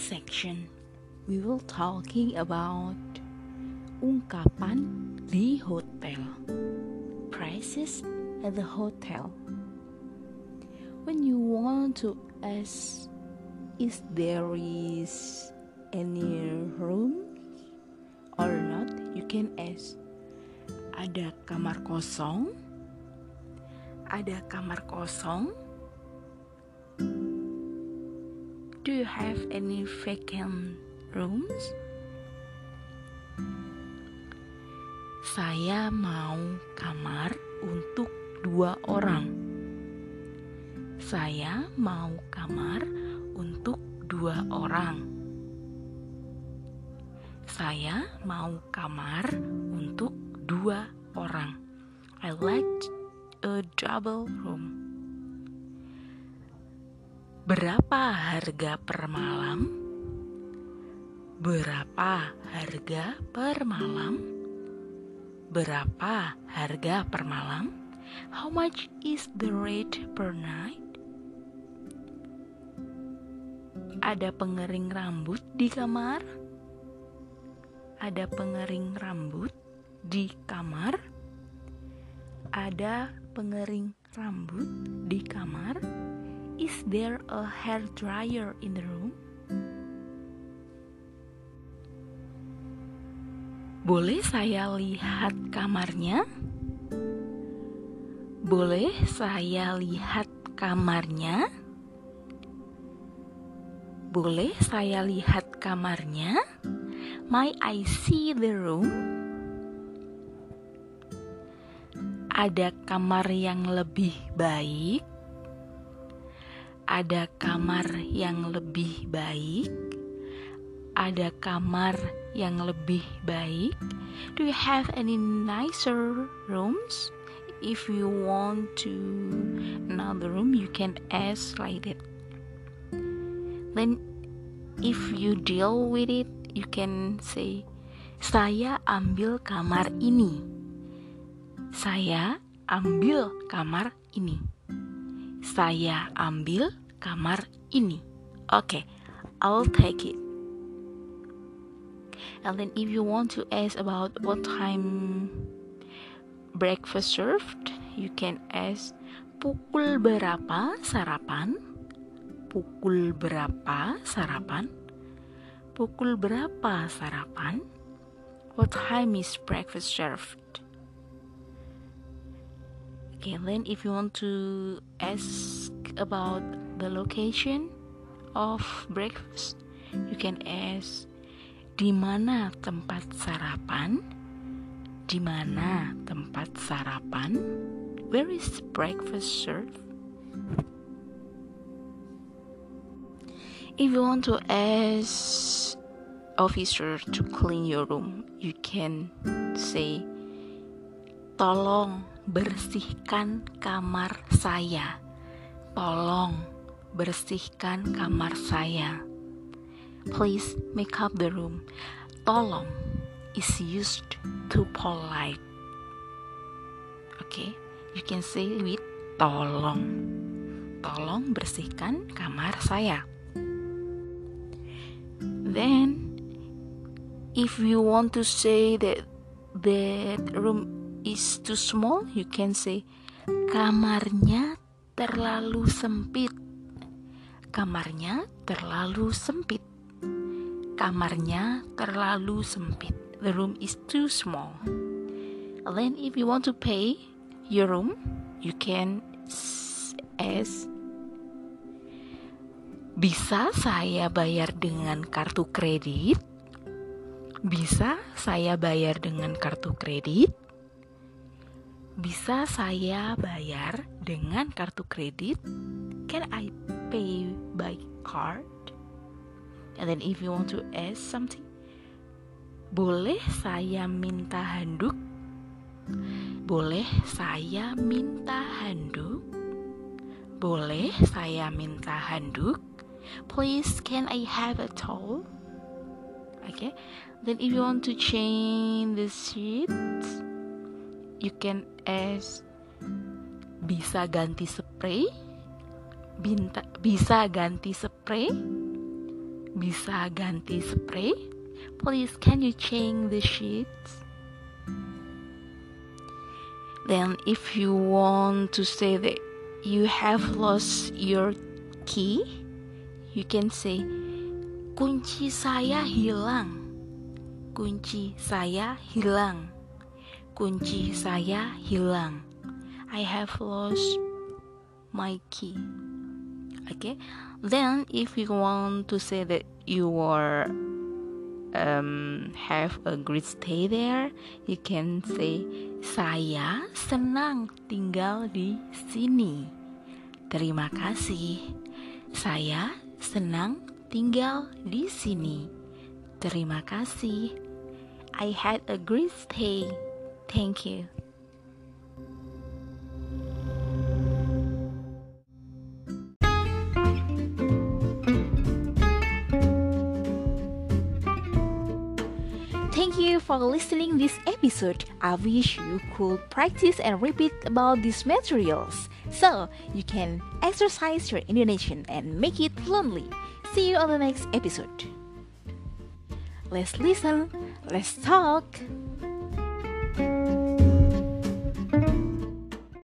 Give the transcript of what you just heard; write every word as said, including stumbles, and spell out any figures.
section, we will talking about ungkapan di hotel, prices at the hotel. When you want to ask, is there is any room or not, you can ask, ada kamar kosong? Ada kamar kosong? Do you have any vacant rooms? Saya mau kamar untuk dua orang. Saya mau kamar untuk dua orang. Saya mau kamar untuk dua orang. I like a double room. Berapa harga per malam? Berapa harga per malam? Berapa harga per malam? How much is the rate per night? Ada pengering rambut di kamar? Ada pengering rambut di kamar? Ada pengering rambut di kamar? Is there a hair dryer in the room? Boleh saya lihat kamarnya? Boleh saya lihat kamarnya? Boleh saya lihat kamarnya? May I see the room? Ada kamar yang lebih baik? Ada kamar yang lebih baik? Ada kamar yang lebih baik? Do you have any nicer rooms? If you want to another room, you can ask like that. Then if you deal with it, you can say, saya ambil kamar ini. Saya ambil kamar ini. Saya ambil kamar ini. Okay, I'll take it. And then if you want to ask about what time breakfast served, you can ask, pukul berapa sarapan? Pukul berapa sarapan? Pukul berapa sarapan? What time is breakfast served? Okay, then if you want to ask about the location of breakfast, you can ask, di mana tempat sarapan? Di mana tempat sarapan? Where is breakfast served? If you want to ask officer to clean your room, you can say, tolong bersihkan kamar saya. Tolong bersihkan kamar saya. Please make up the room. Tolong is used to polite. Okay, you can say with tolong. Tolong bersihkan kamar saya. Then, if you want to say that that room is too small, you can say, kamarnya terlalu sempit. Kamarnya terlalu sempit. Kamarnya terlalu sempit. The room is too small. And then if you want to pay your room, you can ask, bisa saya bayar dengan kartu kredit? Bisa saya bayar dengan kartu kredit? Bisa saya bayar dengan kartu kredit? Can I pay by card? And then if you want to ask something, boleh saya minta handuk? Boleh saya minta handuk? Boleh saya minta handuk? Please, can I have a towel? Okay. Then if you want to change the sheets, you can ask, bisa ganti spray? Binta, bisa ganti spray? bisa ganti spray? Please, can you change the sheets? Then if you want to say that you have lost your key, you can say, kunci saya hilang. Kunci saya hilang. Kunci saya hilang. I have lost my key. Okay. Then if you want to say that you are um, have a great stay there, you can say, saya senang tinggal di sini. Terima kasih. Saya senang tinggal di sini. Terima kasih. I had a great stay. Thank you. Thank you for listening this episode. I wish you could practice and repeat about these materials so you can exercise your Indonesian and make it fluently. See you on the next episode. Let's listen, let's talk.